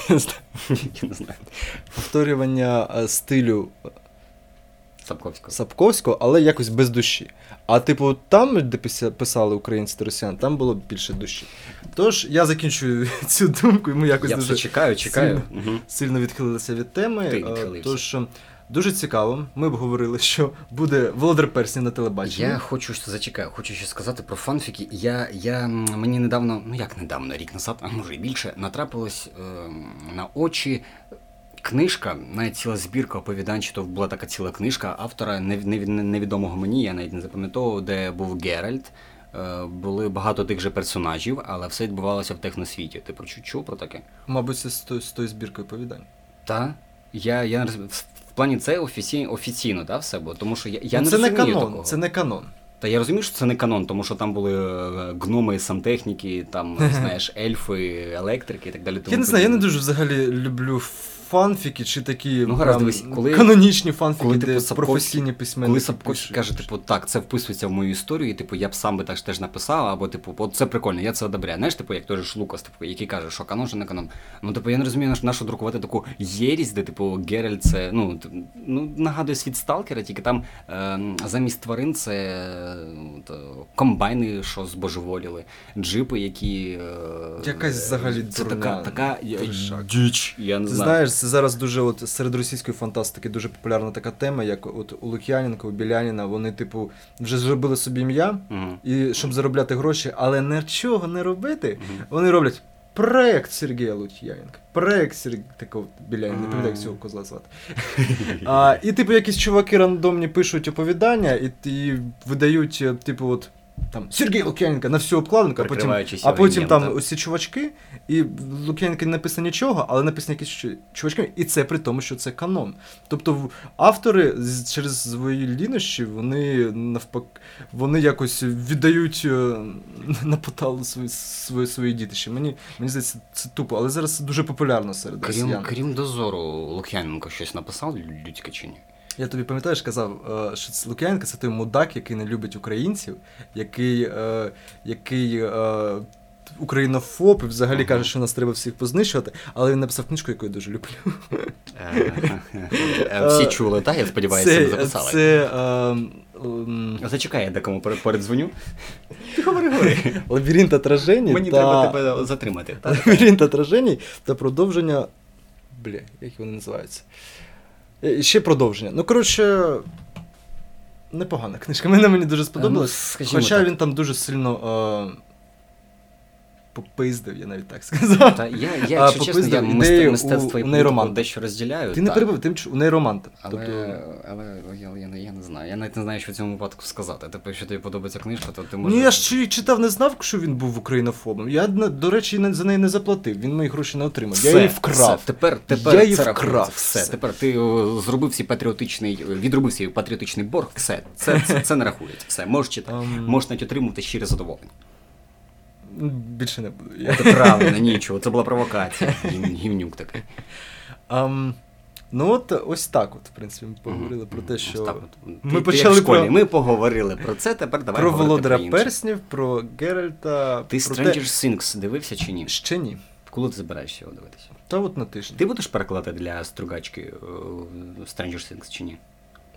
Я не знаю. Повторювання е, стилю... Сапковського. Сапковського, але якось без душі. А типу там, де писали українці та росіяни, там було більше душі. Тож, я закінчую цю думку, і ми якось я дуже все чекаю, чекаю. Сильно, угу. сильно відхилилися від теми. Ти відхилився. Тож, дуже цікаво. Ми б говорили, що буде Володар Перснів на телебаченні. Я хочу, зачекаю, хочу ще сказати про фанфіки. Я, я, мені недавно, ну як недавно, рік назад, а може і більше, натрапилось е, на очі книжка, навіть ціла збірка оповідань, чи то була така ціла книжка автора невідомого мені, я навіть не запам'ятовував, де був Геральт. Були багато тих же персонажів, але все відбувалося в техносвіті. Ти про чув про таке? Мабуть, це з тою, з тою збіркою оповідань. Так. Я, я в плані це офіційно, офіційно, да, все, бо тому що я, я ну, не це розумію не канон, такого. Це не канон. Та я розумію, що це не канон, тому що там були гноми, сантехніки, там, знаєш, ельфи, електрики і так далі. Я не знаю, я не дуже взагалі люблю фанфіки чи такі ну, гаразд, дивись, коли, канонічні фанфіки, коли, де типу, професійні письменники. Коли Сапковський каже, типу, так, це вписується в мою історію, і, типу, я б сам би так теж написав, або, типу, от це прикольно, я це одобряю. Знаєш, типу, як той ж Лукас, типу, який каже, що канон, що не канон. Ну, типу, я не розумію, на що друкувати таку єрість, де, типу, Геральт це, ну, ну нагадує світ Сталкера, тільки там е, замість тварин це е, комбайни, що збожеволіли, джипи, які... Е, Якась взагалі це дурня. така, така діч, я не Ти знаю. знаєш, це зараз дуже, от, серед російської фантастики дуже популярна така тема, як от у Лук'яненка, у Біляніна, вони, типу, вже зробили собі ім'я, угу. і щоб заробляти гроші, але нічого не робити, угу. вони роблять проект Сергія Лук'яненка, проект Сергія, такого Біляніна, не пам'ятаю, як цього козла звати. а, і, типу, якісь чуваки рандомні пишуть оповідання, і, і видають, типу, от, там, Сергій Лук'яненко на всю обкладинку, а потім, а потім там так. Ось чувачки, і в Лук'яненка не написано нічого, але написано якісь чувачки, і це при тому, що це канон. Тобто автори через свої лінощі, вони навпаки, вони якось віддають на поталу свої, свої, свої дітища. Мені, мені здається, це тупо, але зараз це дуже популярно серед крім, росіян. Крім дозору, Лук'яненко щось написав людське чи ні? Я тобі пам'ятаєш, казав, що Лук'яненко – це той мудак, який не любить українців, який, е, який е, українофоб і взагалі uh-huh. каже, що нас треба всіх познищувати, але він написав книжку, яку я дуже люблю. Всі чули, так? Я сподіваюся, це, не записали. Це... Е, е, Зачекай, я декому передзвоню. Ти говори, говори. Лабіринт отражень. Мені та... треба тебе затримати. Лабіринт отражень та продовження... Бля, як вони називаються? Ще продовження. Ну, коротше, непогана книжка. Мене мені дуже сподобалось. Ну, хоча так. Він там дуже сильно е- попиздив, я навіть так сказав. Та я, я якщо чесно, я ідею мистецтво і політику дещо розділяю. Ти не перебив, ти у нейроманта. Але, тобто... але я, я, я не знаю. Я навіть не знаю, що в цьому випадку сказати. Тобто, якщо тобі подобається книжка, то ти можеш... Ну, я ж читав, не знав, що він був українофобом. Я, до речі, за неї не заплатив. Він мої гроші не отримав. Все, я її вкрав. Все. Тепер, тепер я її це вкрав. Все. все. Тепер ти зробив свій патріотичний, відробив свій патріотичний борг. Все. Це, це, це не рахується. Все. Можеш читати. Um... Можеш навіть отримувати щире задоволення. Більше не буду. Це правильно, нічого. Це була провокація. Гівнюк такий. Um, ну от ось так от, в принципі, ми поговорили mm-hmm. про те, що... От. Ми ти, почали ти про... про... Ми поговорили про це, тепер давай про говорити Володара про інше. Перснів, про Геральта... Ти про Stranger те... Things дивився чи ні? Ще ні. Коли ти збираєшся його дивитися? Та от на тиждень. Ти будеш перекладати для Стругачки uh, Stranger Things чи ні?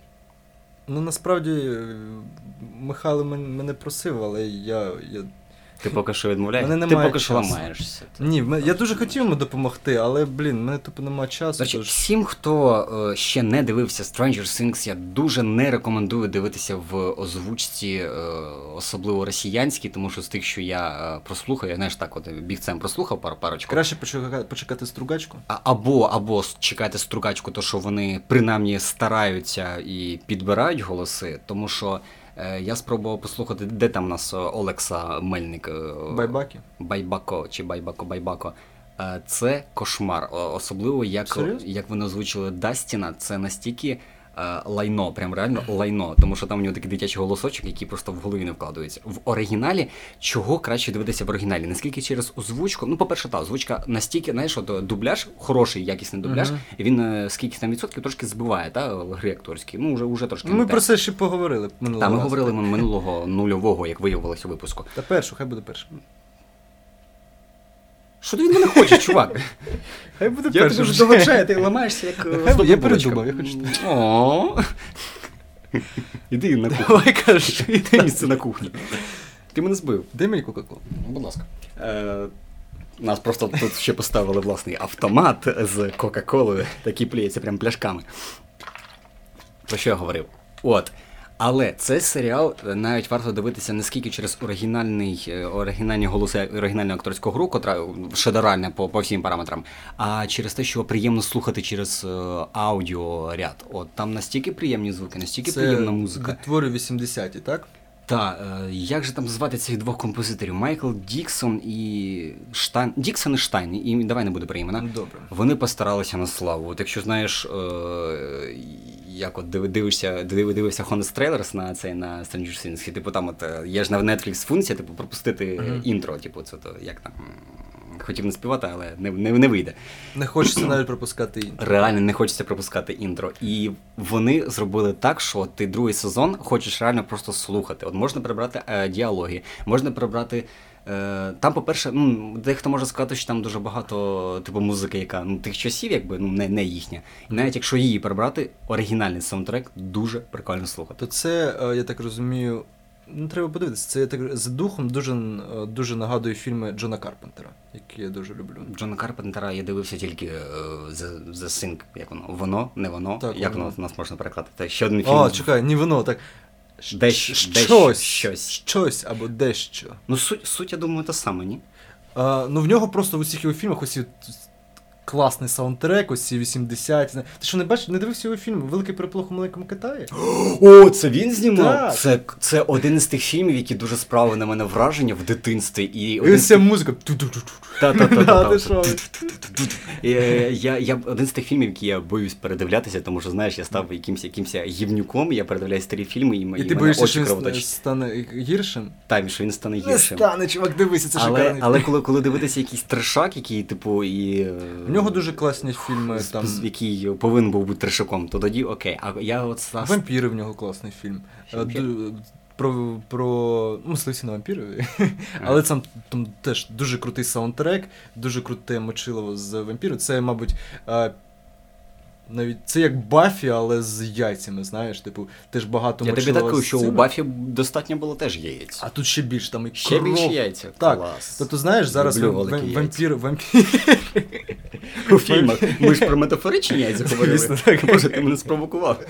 Ну, насправді, Михайло мене просив, але я, я Ти поки що відмовляєш? Мене Ти немає поки що часу. ламаєшся. Ні, в мене- я дуже хотів йому допомогти, але, блін, в мене тупо немає часу. До речі, тож- всім, хто е, ще не дивився Stranger Things, я дуже не рекомендую дивитися в озвучці, е, особливо росіянській, тому що з тих, що я е, прослухав, я знаєш, так от бігцем прослухав пару парочку. Краще почекати, почекати стругачку. А- Або, або с- чекайте стругачку, то що вони принаймні стараються і підбирають голоси, тому що е, я спробував послухати, де там у нас е, Олекса Мельник. е, Байбаки. Байбако чи Байбако Байбако. Е, Це кошмар. О- Особливо, як, Серйозно? як вони озвучили Дастіна, це настільки е, лайно, прям реально лайно. Тому що там у нього такий дитячий голосочок, який просто в голові не вкладується. В оригіналі чого краще дивитися в оригіналі? Наскільки через озвучку? Ну, по-перше, та озвучка настільки, знаєш, от дубляж, хороший, якісний дубляж, Мгм. і він е, скільки там відсотків трошки збиває, та, гри акторські. Ну, вже, вже трошки. Ми не те. про це ще поговорили минулого Та, ми разу. говорили минулого нульового, як виявилося у випуску. Та першу, хай буде перша. Що ти від мене хочеш, чувак? Хай буде Я перша. тобі вже доведжаю, ти ламаєшся як Нехай- е, здобна я булочка. передумав, я хочу. О. Іди на кухню. Давай кажи. Іди місце на кухні. Ти мене збив. Дай мені Кока-Колу. Будь ласка. Е, Нас просто тут ще поставили власний автомат з Кока-Колою, такий плюється прям пляшками. Про що я говорив? От. Але цей серіал навіть варто дивитися не скільки через оригінальний, е, оригінальні голоси оригінального акторського гру, котра шедевральна по, по всім параметрам, а через те, що приємно слухати через е, аудіоряд. От там настільки приємні звуки, настільки приємна музика. Відтвори вісімдесяті, так? Та, е, як же там звати цих двох композиторів? Майкл Діксон і Штайн. Діксон і Штайн, і давай не буде про імена. Ну, добре. Вони постаралися на славу. От якщо знаєш, е, як от диви- дивишся, див- дивився Honest Trailers на цей на Stranger Things, і типу там от е, є ж на Netflix функція, типу, пропустити Мгм. інтро, типу, це то як там. м, Хотів не співати, але не, не, не вийде. Не хочеться навіть пропускати інтро. Реально не хочеться пропускати інтро. І вони зробили так, що ти другий сезон хочеш реально просто слухати. От можна прибрати е, діалоги, можна прибрати. Е, там, по-перше, ну, дехто може сказати, що там дуже багато типу музики, яка ну, тих часів, якби ну, не, не їхня. І навіть якщо її прибрати, оригінальний саундтрек дуже прикольно слухати. То це, е, я так розумію, ну треба подивитися, це я так за духом дуже, е, дуже нагадує фільми Джона Карпентера, які я дуже люблю. Джона Карпентера я дивився тільки е, The, The Thing, як воно? Воно, не воно. Так, як воно. воно у нас можна перекладати? Це ще один фільм. А, чекай, ні воно, так. Десь- Щ- десь щось, щось. щось або дещо. Ну, суть, суть, я думаю, та саме, ні? А, ну в нього просто в усіх його фільмах ось класний саундтрек, ось ці вісімдесяті. Ти що не бачиш, не дивився його фільм Великий переполох у маленькому Китаї? О, це він знімав? Так. Це, це один із тих фільмів, які дуже справили на мене враження в дитинстві. І І один ось з ця тих... музика. Ту-ту-ту-ту. Та-та-та-та-та. А, ти що? І, е, Я, я один з тих фільмів, які я боюсь передивлятися, тому що, знаєш, я став якимсь, якимсь гівнюком, я передивляю старі фільми, і, І і ти мене боїшся, очі що він кровоточать. стане гіршим? Там, що він стане Не гіршим. стане, чувак, дивися, це Але, шикарний але фільм. коли, коли дивитися якийсь трешак, який, типу, і... е, В нього дуже класні фільми, з- там... з- який повинен був бути трешаком, то тоді окей. А я от став... Вампіри в нього класний фільм. Ще Е, вампір? ду- Про, про ну, мисливці на вампірові. Але там, там теж дуже крутий саундтрек, дуже круте мочилово з вампіру. Це, мабуть, е, навіть це як Баффі, але з яйцями, знаєш, типу, теж багато Я тобі мочилова такий, з що у цими. Баффі достатньо було теж яєць. А тут ще більше, там і Ще кров. більше яйця. Так. Клас. Тобто, знаєш, зараз Люблю вам- великі вам- яйця. вампір, вампір. У фільмах. Ми ж про метафоричні яйця говорили. Звісно, так. Боже, ти мене спровокував.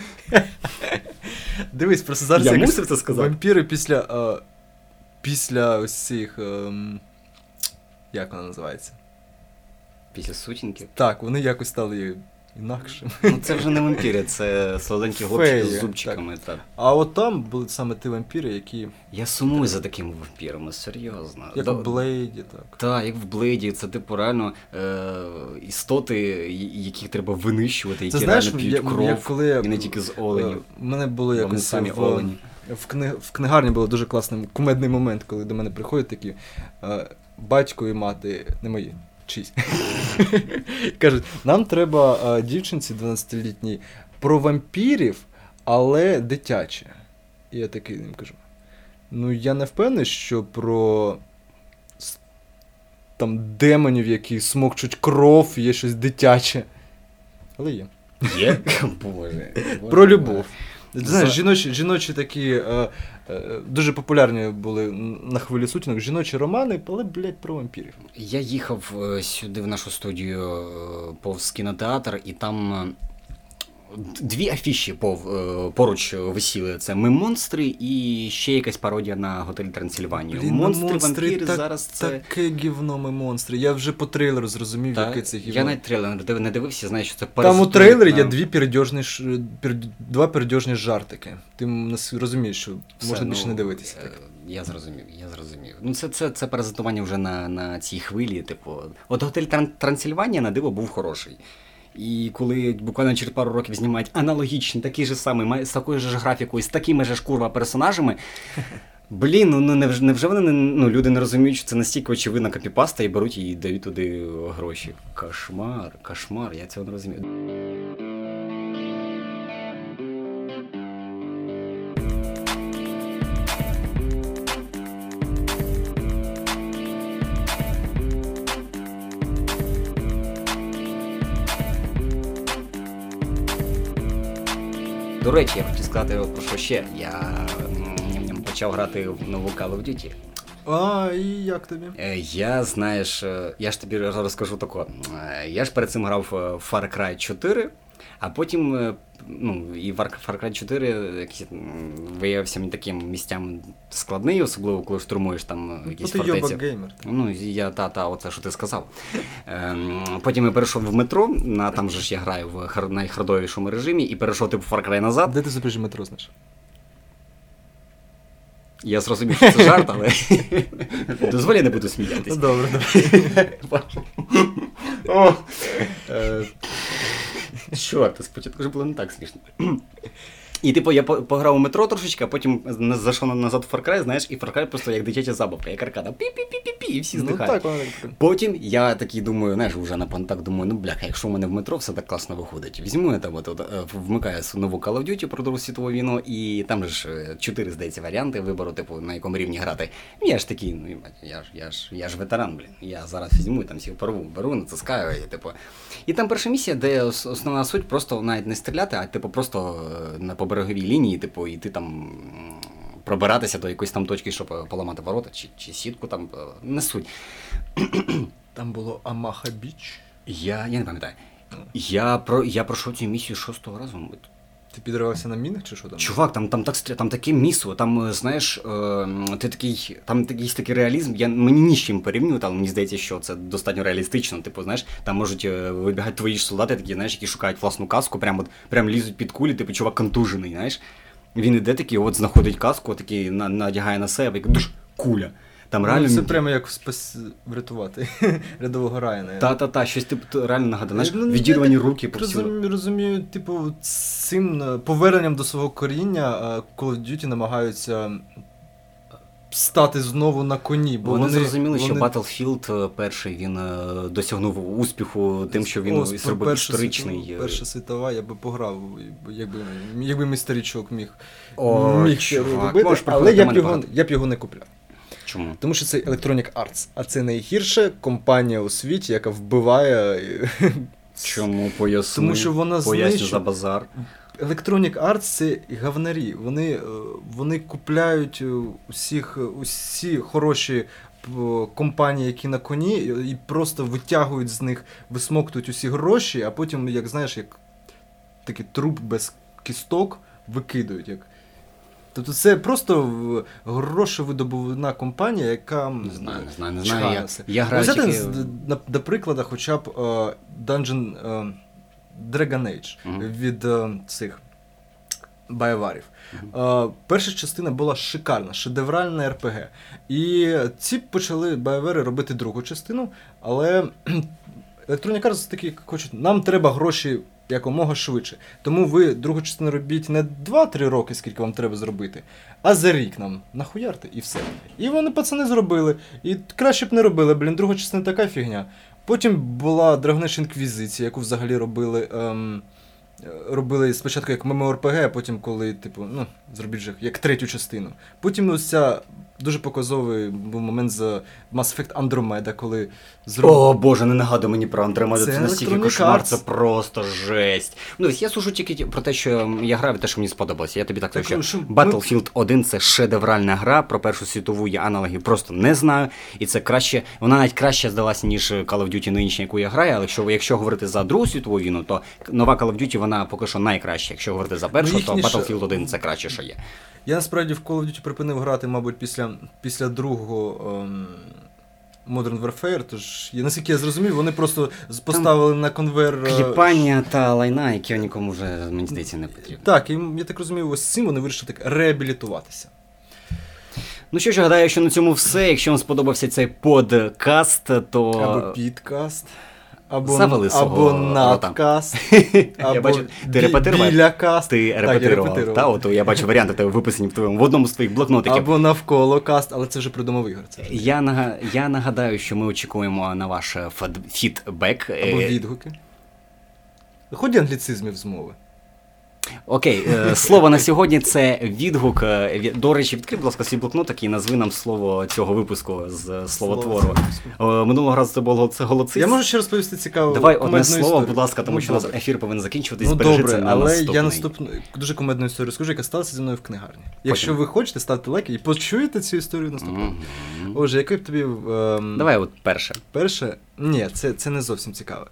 Дивись, просто зараз Я якось мусив це сказати. вампіри після, е, після ось цих, ем, як вона називається? Після сутінки. Так, вони якось стали інакшими. Ну це вже не вампіри, це солоденькі хлопчики Феї, з зубчиками. Так. А от там були саме ті вампіри, які, Я сумую за такими вампірами, серйозно. як Да- у Блейді, так. Так, як в Блейді, це типу реально е, істоти, і- яких треба винищувати, які Це знаєш, реально п'ють як, кров, як коли і не тільки з оленів. У мене було Вони якось самі в, олені. в, кни, в книгарні було дуже класний кумедний момент, коли до мене приходять такі е, батько і мати, не мої, чиїсь. Кажуть, нам треба е, дівчинці дванадцятилітній про вампірів, але дитяче. І я такий їм кажу: ну я не впевнений, що про с- там демонів, які смокчуть кров, є щось дитяче. Але є. Є? Боже. Боже Про любов. Знаєш, жіночі, жіночі такі е, е, дуже популярні були на хвилі сутінок жіночі романи, але, блядь, про вампірів. Я їхав сюди в нашу студію повз кінотеатр, і там дві афіші поруч висіли. Це «Ми монстри» і ще якась пародія на «Готель Трансильванію». Блін, монстри, монстри, вампіри, так, зараз це... Таке гівно «Ми монстри». Я вже по трейлеру зрозумів, Та, яке це гівно. Я навіть трейлер не дивився, знаю, що це Там у трейлері на... є дві передьожні, пер... два передьожні жартики. Ти розумієш, що Все, можна ну, більше не дивитися. Так. Я зрозумів, я зрозумів. Ну це, це, це паразитування вже на, на цій хвилі, типу. От «Готель Трансильванія» на диво був хороший. І коли буквально через пару років знімають аналогічний, такий же самий, з такою ж графікою, з такими ж курва персонажами, блін, ну невже, невже вони не, ну, люди не розуміють, що це настільки очевидна копіпаста і беруть і дають туди гроші. Кошмар, кошмар, я цього не розумію. До речі, я хотів сказати про що ще. Я почав грати в нову Call of Duty. А, і як тобі? Я, знаєш, я ж тобі розкажу тако. Я ж перед цим грав в Far Cry чотири, а потім, ну, і Far Cry чотири якийсь виявився мені таким місцям складний, особливо коли штурмуєш там якісь фортеці. Ти йобак геймер. Ну, я, та-та, оце, що ти сказав. Потім я перейшов в метро, на, там же ж я граю в найхардовішому режимі, і перейшов типу Far Cry назад. Де ти запряжі метро, знаєш? Я зрозумів, що це жарт, але дозволь, я не буду сміятися. Добре, добре. Чорт, спочатку вже було не так смішно. І типу я пограв у метро трошечки, а потім зайшов назад в Far Cry, знаєш, і Far Cry просто як дитяча забавка, як аркада. Пі-пі-пі-пі-пі, і всі здихають. Ну, так, потім я такий думаю, знаєш, вже на понтак думаю, ну бляха, якщо в мене в метро все так класно виходить, візьму я там, от, от, вмикаю нову Call of Duty про Другу світову війну, і там же ж чотири, здається, варіанти вибору, типу, на якому рівні грати. Я ж такий, ну, я ж, я ж, я ж ветеран, блін, я зараз візьму і там всіх порву, беру, натискаю, і типу. І там перша місія, де основна суть просто навіть не стріляти, а типу просто на побереговій лінії, типу, і ти там пробиратися до якоїсь там точки, щоб поламати ворота, чи, чи сітку там, не суть. Там було Амаха Біч? Я, я не пам'ятаю. Я, про, я пройшов цю місію шостого разу, мабуть. Ти підривався на мінах чи що там? Чувак, там, там, так, там таке місо, там, знаєш, е, ти такий, там такий, такий реалізм, я, мені ні з чим порівнюю, але мені здається, що це достатньо реалістично, типу, знаєш, там можуть вибігати твої ж солдати, такі, знаєш, які шукають власну каску, прям, прям лізуть під кулі, типу, чувак контужений, знаєш. Він іде такий, от знаходить каску, такий, на, надягає на себе, і душ, куля. Там реально... Ну, це прямо як спас... врятувати рядового Райана. Та-та-та, щось типу реально нагадано, знаєш, відірвані руки по всьому. Розумію, розумію, типу, цим поверненням до свого коріння Call of Duty намагаються стати знову на коні. Бо вони, вони зрозуміли, вони... що Battlefield перший, він досягнув успіху тим, що він О, зробив історичний. Світова, Перша світова, я би пограв, якби, якби мій старічок міг, О, міг чувак, робити, але я б, його, я б його не купляв. Чому? Тому що це Electronic Arts, а це найгірша компанія у світі, яка вбиває... Чому? Поясни. Тому що вона Поясню за базар. Electronic Arts – це гавнарі. Вони, вони купляють усіх, усі хороші компанії, які на коні, і просто витягують з них, висмоктують усі гроші, а потім, як знаєш, як такий труп без кісток викидають. Як... Тобто це просто грошовидобувна компанія, яка... Не знаю, не знаю, не знаю. Я, я граю Взяти, тільки... на, на прикладі хоча б uh, Dungeon uh, Dragon Age uh-huh. від uh, цих байварів. Uh-huh. Uh, перша частина була шикарна, шедевральна ар пі гі. І ці почали байвари робити другу частину, але Electronic Arts такі хочуть, нам треба гроші якомога швидше. Тому ви другу частину робіть не два-три роки, скільки вам треба зробити, а за рік нам нахуярте і все. І вони, пацани, зробили. І краще б не робили, блін, друга частина така фігня. Потім була Dragon Age Inquisition, яку взагалі робили ем, робили спочатку як ММО-РПГ, а потім коли, типу, ну, зробіть же як третю частину. Потім ось ця дуже показовий був момент з Mass Effect Andromeda, коли зробили... О, боже, не нагадуй мені про Andromeda, це, це настільки кошмар, Arts. Це просто жесть. Ну, я слушаю тільки про те, що я грав і те, що мені сподобалося. Я тобі так кажу, що Battlefield один це шедевральна гра, про Першу світову я аналогів просто не знаю, і це краще, вона навіть краще здалася, ніж Call of Duty нинішня, яку я граю, але якщо, якщо говорити за Другу світову війну, то нова Call of Duty, вона поки що найкраща. Якщо говорити за першу, ну, то Battlefield один це краще, що є. Я насправді в Call of Duty припинив грати, мабуть, після, після другого ем, Modern Warfare, тож, я, наскільки я зрозумів, вони просто поставили там на конвейер... Кліпання та лайна, які нікому вже, мені здається, не потрібно. Так, і я так розумію, ось цим вони вирішили так реабілітуватися. Ну що ж, гадаю, що на цьому все. Якщо вам сподобався цей подкаст, то... Або підкаст. Або, або надкаст, або я бачу, ти репетирував? Білякаст. Ти репетирував. Та, от, я бачу варіанти тебе виписані в твоєму, в одному з твоїх блокнотиків. Або навколо каст, але це вже придумав Ігор. Я, нага, я нагадаю, що ми очікуємо на ваш фідбек. Або відгуки. Ході англіцизмів з мови. Окей, слово на сьогодні це відгук. До речі, відкрий, будь ласка, свій блокнотик і назви нам слово цього випуску з словотвору. Минулого разу це було це голоцист. Я можу ще розповісти цікаву Давай одне слово, історію. Будь ласка, тому ну, що у нас ефір повинен закінчуватись. Ну Бережи добре, це на але наступний. Я наступну дуже кумедну історію скажу, яка сталася зі мною в книгарні. Якщо Потім. ви хочете, ставте лайки і почуєте цю історію наступного. Mm-hmm. Отже, який б тобі... Ем... Давай от перше. Перше? Ні, це, це не зовсім цікаве.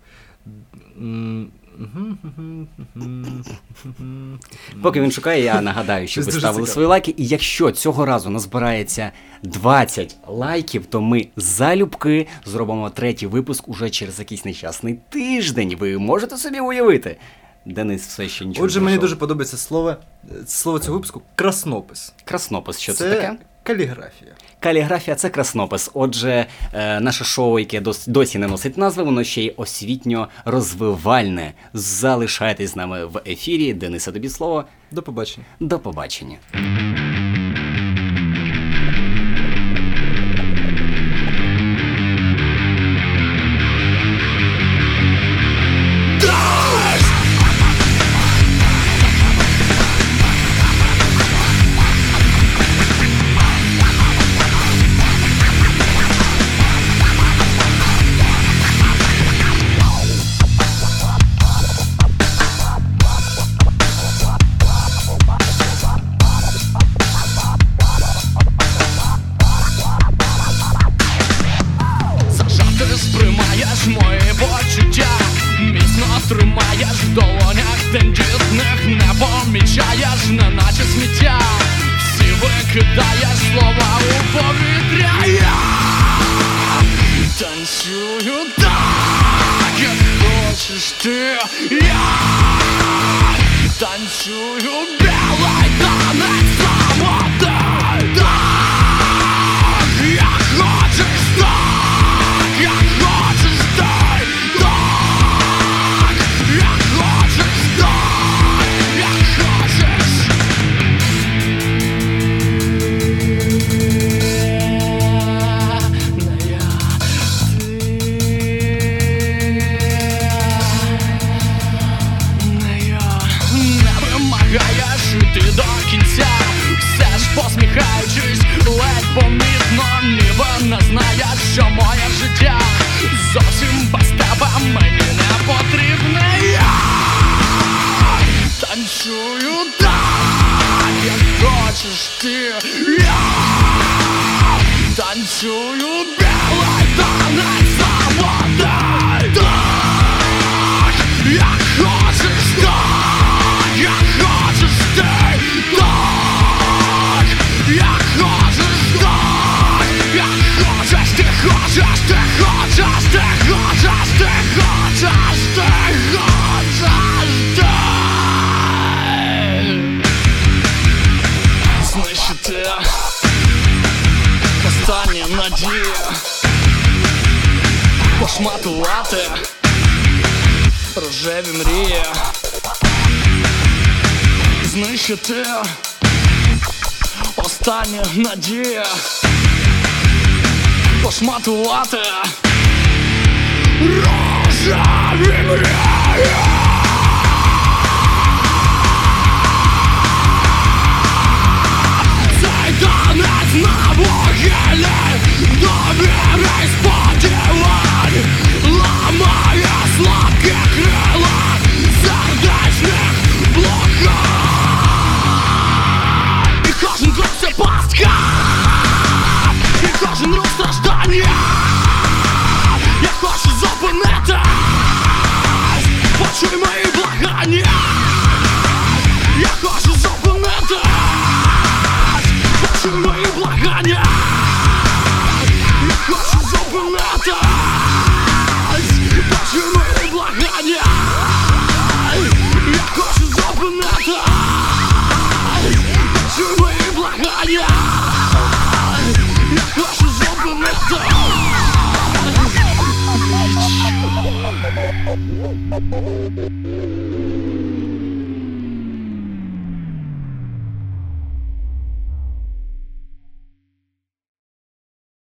Поки він шукає, я нагадаю, що ви ставили свої лайки. І якщо цього разу назбирається двадцять лайків, то ми залюбки зробимо третій випуск уже через якийсь нещасний тиждень. Ви можете собі уявити? Денис все ще нічого Отже, не мені дуже подобається слово, слово цього випуску – краснопис. Краснопис, що це, це таке? Каліграфія. Каліграфія – це краснопис. Отже, е, наше шоу, яке дос, досі не носить назви, воно ще й освітньо-розвивальне. Залишайтесь з нами в ефірі. Денисе, тобі слово. До побачення. До побачення. Тримаєш в долонях тендітних, не помічаєш, неначе сміття. Всі викидаєш слова у повітря. Я танцюю так, як хочеш ти. Я танцюю білий танець свободи. Так, як хочеш так, як хочеш ти. Ти до кінця, все ж посміхаючись, ледь помітно, ніби не знаєш, що моє життя зовсім без тебе мені не потрібне. Я танцюю так, як хочеш ти. Я танцюю білий танець свободи. Так, як хочеш так, як хочеш ти. Так, як хочеш так, як хочеш ти, хочеш ти, хочеш ти, хочеш ти, хочеш ти, хочеш ти. Знищити останні надії, пошматувати рожеві мрії. Знищити останні надії, пошматувати рожеві мрії.